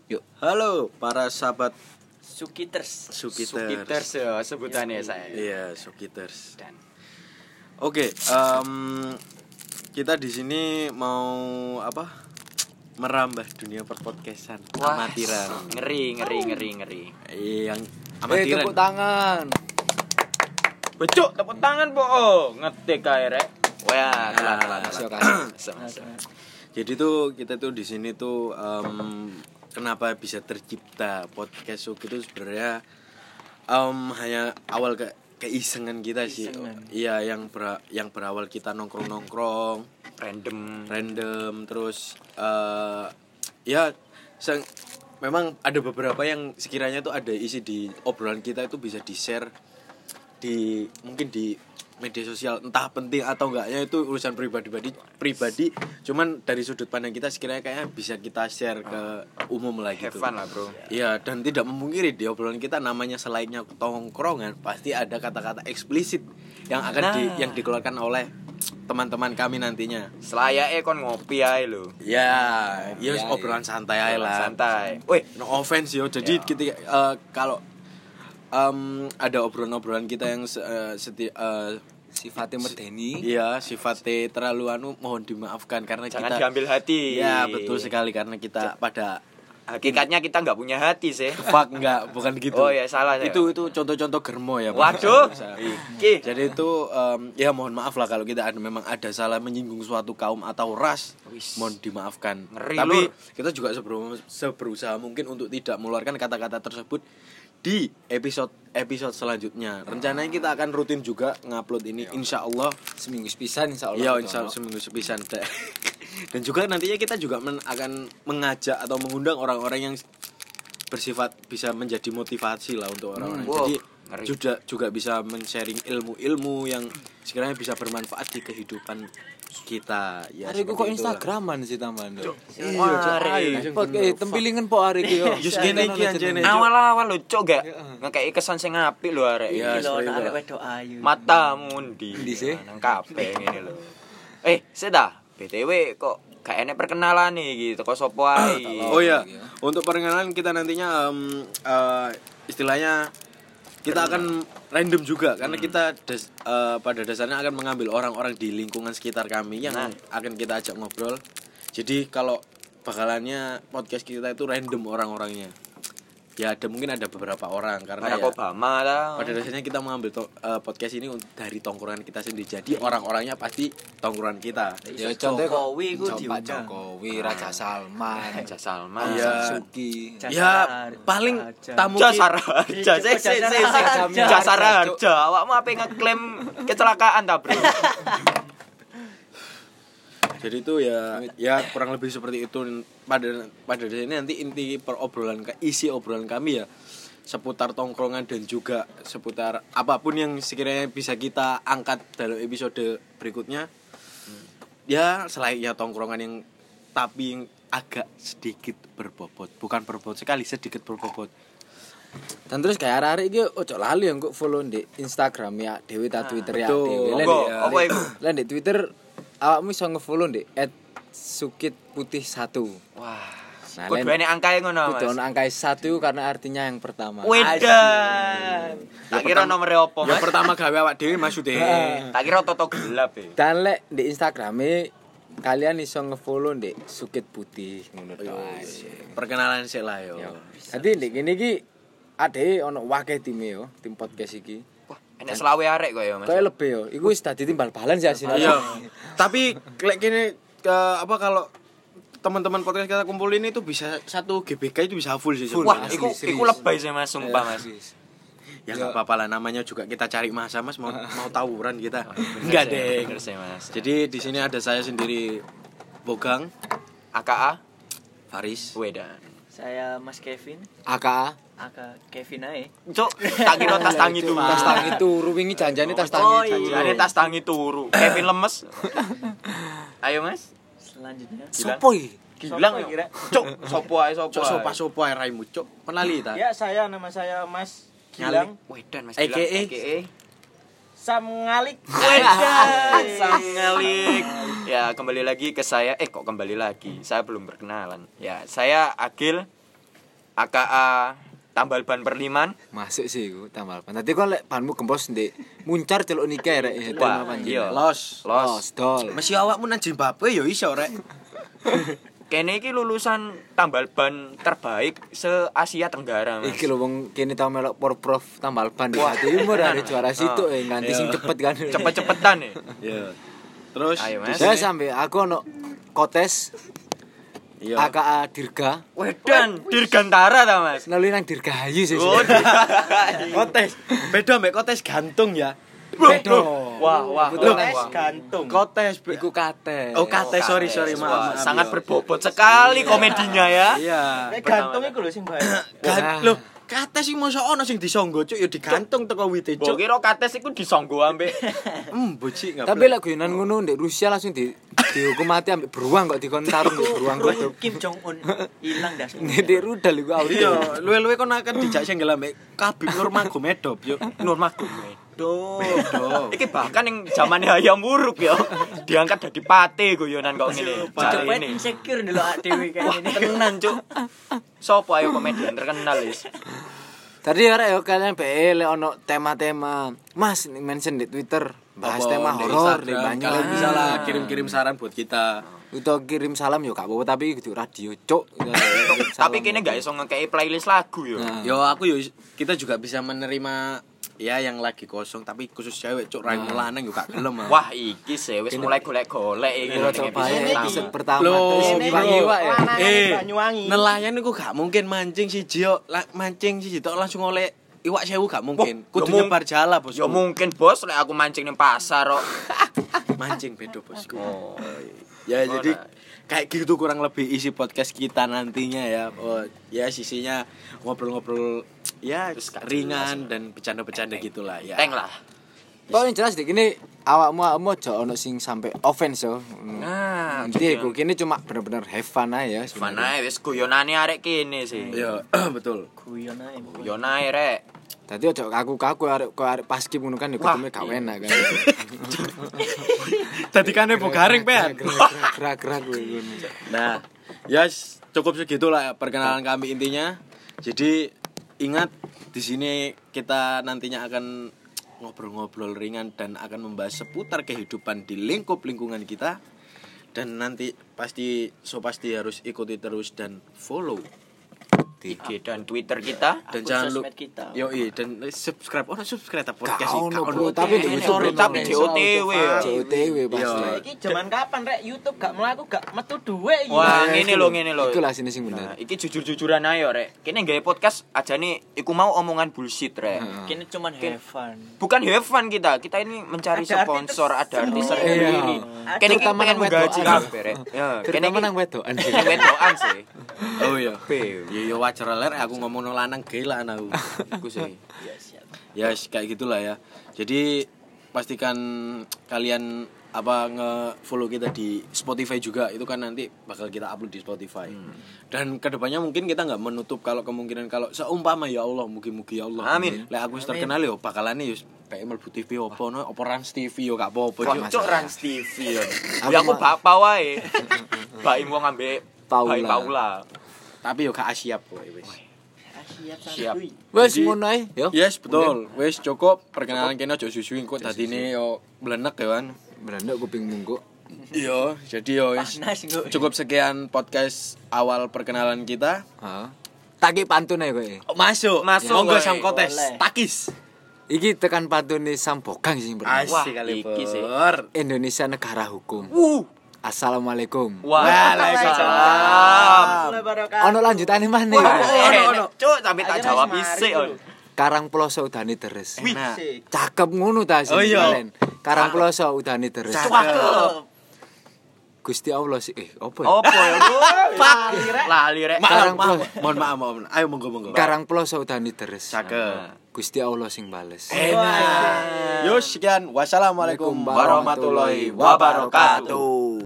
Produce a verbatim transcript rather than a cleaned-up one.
Yuk. Halo para sahabat Sukiters. Sukiters. Sukiters ya sebutannya saya. Iya, Sukiters. Dan Oke, em, kita di sini mau apa? Merambah dunia perpodcastan amatiran. ngeri ngeri ngeri ngeri. Eh, yang Eh, amatiran. tepuk tangan. Becuk tepuk tangan po. Oh, ngetik kae rek. Wah, telat telat. Masuk telat. kan. Jadi tuh kita tuh di sini tuh em, kenapa bisa tercipta podcast Suk itu sebenarnya em, hanya awal ke keisengan kita sih. Keisengan. Iya, yang ber, yang berawal kita nongkrong-nongkrong, Random. random terus eh ya sang, memang ada beberapa yang sekiranya tuh ada isi di obrolan kita itu bisa di-share di mungkin di media sosial, entah penting atau enggaknya itu urusan pribadi-pribadi pribadi, cuman dari sudut pandang kita sekiranya kayaknya bisa kita share ke umum lah Have gitu. fun lah, bro. Iya, dan tidak memungkiri di obrolan kita namanya selainnya tongkrongan pasti ada kata-kata eksplisit yang akan Nah. di, yang dikeluarkan oleh teman-teman kami nantinya. Selayaknya kon ngopi ae lho. Ya, ya Ya, obrolan santai aja lah. Santai. Woi, No offense yo. Jadi Ya. ketika eh, kalau em, ada obrolan-obrolan kita yang se- eh, seti eh, Sifatnya medeni. iya sifatnya terlalu anu, mohon dimaafkan karena jangan kita diambil hati. ya betul sekali karena kita pada Hakikatnya kita nggak punya hati sih. fuck enggak bukan gitu. Oh ya salah saya. Itu itu contoh-contoh germo ya. Pak. Waduh. Bisa. Iki. Jadi itu em, ya mohon maaf lah kalau kita ada memang ada salah menyinggung suatu kaum atau ras, Wis. mohon dimaafkan. Ngeri, Tapi Lur. kita juga sebelum seberusaha mungkin untuk tidak mengeluarkan kata-kata tersebut di episode episode selanjutnya. Rencananya kita akan rutin juga ngupload ini insya Allah. Seminggu sepisan insya Allah. Iya insya Allah seminggu sepisan. Dan juga nantinya kita juga men- akan mengajak atau mengundang orang-orang yang bersifat bisa menjadi motivasi lah untuk orang-orang. Hmm, wow, Jadi ngeri. juga juga bisa men-sharing ilmu-ilmu yang sekiranya bisa bermanfaat di kehidupan kita. Ya, Hari ku seperti kok itulah. Instagraman sih tambahan. Iya, Cok. Ayo, pot eh tempilingan po hari ku yo. Just gini iki anjene. Awal-awal lho cok gak ngekei kesan sing apik lho arek. Iya, Iki lho sorry, arek Pak. wedok ayu. Matamu ndi? Ndi sih? Nang kabeh ngene lho. Eh, seda. B T W kok gak enek perkenalan nih gitu. Kok sopo ae? Oh ya, untuk perkenalan kita nantinya em, eh, istilahnya kita akan random juga karena kita des- eh, pada dasarnya akan mengambil orang-orang di lingkungan sekitar kami yang Nah. akan kita ajak ngobrol. Jadi kalau bakalannya podcast kita itu random orang-orangnya. Ya ada mungkin ada beberapa orang karena Barack ya, Obama lah. pada dasarnya kita mengambil to- eh, podcast ini untuk- dari tongkrongan kita sendiri. Jadi orang-orangnya pasti tongkrongan kita. Ya contoh kok Jokowi ku Pak diundang. Jokowi, Raja Salman, Raja Salman. Iya. Suki. Jasara Ya Harja. paling tamu Jasara ki- Harja. Sik sik sik sik. Harja. Jasara Harja. Awakmu ape ngeklaim kecelakaan ta, Bro? Jadi itu ya ya kurang lebih seperti itu pada pada sini nanti inti perobrolan isi obrolan kami ya seputar tongkrongan dan juga seputar apapun yang sekiranya bisa kita angkat dalam episode berikutnya. Ya selainnya tongkrongan yang tapi yang agak sedikit berbobot, bukan berbobot sekali, sedikit berbobot. Dan terus kayak arek iki ojo lali yang kok follow di Instagram ya Dewi ta Twitter ya betul. Dewi. Lah Monggo, di- apa iku? Lah di Twitter awakmu iso nge-follow di et sukit putih satu. Wah. Nah, Kudu lain- enek angkae ngono, Kudu Mas. ono angka satu karena artinya yang pertama. Wedan. Tak kira nomere opo, Yang Mas? pertama gawe awak dhewe maksudnya. Tak kira toto gelap e. Dan lek di Instagrame kalian iso nge-follow di sukit putih ngono to. Perkenalan sik lah yo. Dadi ndek kene iki ade ono wakeh time yo, tim podcast iki. Wah, enek selawe arek kok ya, Mas. Kayak lebih yo, iku wis dadi timbal balan sih asine. Iya. Tapi lek kene ke apa kalau teman-teman podcast kita kumpulin itu bisa satu G B K itu bisa full sih. Wah, sebenarnya. iku serius. iku lebay sih Mas, sumpah Mas. Ya enggak apa-apa lah, namanya juga kita cari masa Mas, mau mau tawuran kita. Bener Enggak sih, deh. bener sih, Mas. Jadi di sini ada saya sendiri Bogang, A K A Faris. Wedan. Saya Mas Kevin, A K A Aka Kevin ae. Cuk, tak kira tas tangi turu. tas tangi turu wingi janjane tas tangi. Oh, iya. Janjane tas tangi turu. Kevin lemes. Ayo Mas. Selanjutnya Sopo iki? Gilang Sopo kira? Cuk, sopo ae sopo. Cok ae. sopa-sopa ae raimu, Cok. Penali ta? Ya, saya nama saya Mas Gilang Wedan Mas A K A. Gilang. A K A. Sam Ngalik. Wedan. Sang ngalik. Ya, kembali lagi ke saya. Eh, kok kembali lagi? Saya belum berkenalan. Ya, saya Agil. A K A tambal ban perliman. Masuk sih iku tambal ban. Dadi kok lek banmu gempos ndek muncar celuk nikah rek ya Wah, tambal ban. iya. Los. Los. dol. Masih awakmu nang Zimbabwe ya iso rek. Kene iki lulusan tambal ban terbaik se Asia Tenggara, Mas. Iki lho wong kene tau melok Porprov tambal ban di Timur ada juara situ eh nganti sing cepet kan. Cepet-cepetan ya. Iya. Terus Ayo, Mas. Saya sampe aku ono kotes iya. A K A Dirga. Wedan, dirgantara ta, Mas? Nuli nang Dirgahayu sih. Oh, Kotes. Beda mbek kotes gantung ya. Beda. Wah, wah, Betul, wah, Tes wah. gantung. Kotes be- Iku kate. Oh, kate, sorry sorry Wah, maaf. maaf, sangat iya. berbobot sekali komedinya ya. Iya. Nek gantung iku lho sing bahaya. Gan- Loh, kate sing mosok ono sing disonggo cuk ya digantung teko wite Mbok cuk. kira kates iku disonggo ambek Hmm, bocik enggak. Tapi lek guyonan ngono ndek Rusia langsung di dihukum mati ambek beruang kok dikon tarung ndek beruang kok. Kim Jong Un hilang dah. Ndek rudal iku auto. Iya, luwe-luwe kon akan dijak senggel ambek Khabib Nurmagomedov yuk. Nurmagomedov. Doh. Iki bahkan yang zamane Hayam Wuruk ya. Diangkat dadi pate guyonan kok ngene. Coba Jare ini. insecure dulu A D W kayak ini. Tenan, Cuk. Sopo ayo komedian terkenal wis. Tadi arek yo kalian be lek ono tema-tema. Mas mention di Twitter bahas Apa, tema di horor di Instagram, banyak. kalian bisa lah kirim-kirim saran buat kita. Udah kirim salam yo gak apa-apa tapi kudu radio, Cuk. Tapi kene gak iso ngekei playlist lagu yo. Nah. Yo aku yo kita juga bisa menerima ya yang lagi kosong tapi khusus cewek cuk rai lanang yo gak gelem ah. Wah, iki sih wis mulai golek-golek iki. Kira ning coba ya episode episode pertama. pertama Loh, terus Ini Bang bro. Iwa ya. Lanangan Eh, Banyuwangi. nelayan iku gak mungkin mancing siji yo la- mancing siji tok langsung oleh iwak sewu gak mungkin. Wah, Kudu ya mung- nyebar jala bos. Ya mungkin bos lek aku mancing ning pasar kok. Mancing bedo bosku. Oh. Ya Oh, jadi nah. kayak gitu kurang lebih isi podcast kita nantinya ya. Oh, ya sisinya ngobrol-ngobrol ya Terus gak ringan dan bercanda-bercanda gitulah ya. Teng lah. Pokoknya jelas dik ini awakmu awakmu aja ono sing sampai offense yo. Nah, Inti iku kene cuma bener-bener have fun ae ya. mana wis guyonane arek kene sih. Ya, betul. Guyon ae. Guyon ae rek. Dadi aja kaku-kaku arek kok arek paskib ngono kan yo Wah, ketemu gak iya. enak kan. Tadi kanebo garing pen. Gerak-gerak kuwi ngono. Nah, ya s- cukup segitulah ya perkenalan kami intinya. Jadi ingat di sini kita nantinya akan ngobrol-ngobrol ringan dan akan membahas seputar kehidupan di lingkup lingkungan kita. Dan nanti pasti so pasti harus ikuti terus dan follow I G dan Twitter kita. dan Akun jangan lupa sosmed kita. yo dan subscribe oh subscribe podcast Gak iki ono, gak bro, ono. tapi di Eh, YouTube sorry, ono. Tapi D O T W ya. C O T W pasti. Iya. Iki zaman kapan rek YouTube gak mlaku gak metu dhuwit iki. Wah, Nah, ngene iku lho, ngene lho. Iku lah sini sing Nah, bener. iki jujur-jujuran ayo rek. Kene gawe podcast aja nih iku mau omongan bullshit rek. Heeh. Kini cuman have fun. Bukan have fun kita. Kita ini mencari Ada arti sponsor, ada artis tersendiri. tersendiri. Iya. Kene iki Terutama pengen nang menggaji wedokan. kabeh rek. Ya, kene Terutama iki nang wedokan. nang wedokan sih. Oh iya. Be, Ya ya wajar lah Rek, aku ngomong lanang gila aku. iku sih. Ya kayak gitulah ya. Jadi pastikan kalian apa nge-follow kita di Spotify juga, itu kan nanti bakal kita upload di Spotify. Dan kedepannya mungkin kita nggak menutup kalau kemungkinan kalau seumpama ya Allah, mugi-mugi ya Allah. Amin. Lek aku wis terkenal yo bakalane yo kayak mlebu T V opo no, opo Rans T V yo gak apa-apa. Wah, Cuk. cuk Rans T V ya. Aku Ya aku mah- bapak wae. Baim wong ambek Paula. Baim Paula. Tapi yo gak siap kowe wis. Siap Siap. santuy. Wes Jadi- ngono ae, yo. Yes, betul. Wis cukup perkenalan kene aja susuin kok dadine yo blenek ya kan. Beranda kuping mungguk. Iya, jadi yo wis Panas kok. cukup sekian podcast awal perkenalan kita. Heeh. Taki pantun ae kowe. Masuk, Masuk, monggo woy. Sam Kotes. Boleh. Takis. Iki tekan pantune Sambogang sing pertama. Wah, Asik kali iki sih. Pur. Indonesia negara hukum. Uh. Assalamualaikum. Waalaikumsalam. Mulai barokah. Ono lanjutane maneh. Wah, ono, ono. Cuk, sampe tak Ayo, jawab Mas, isik. mari, Karang Ploso udane deres. Enak. Sik. Cakep ngono ta sing Oh, iya. kalian. Karang Ploso udane deres. Cakep. Gusti Allah sih eh apa ya? Opo ya, Bu? Lali, Rek. Lali rek. Maaf, Karang maaf. Ploso. Mohon maaf, mohon maaf. Ayo monggo monggo. Karang Ploso udane deres. Cakep. Gusti Allah sing bales. Enak. Yo sekian. Wassalamualaikum Warahmatullahi warahmatullahi wabarakatuh.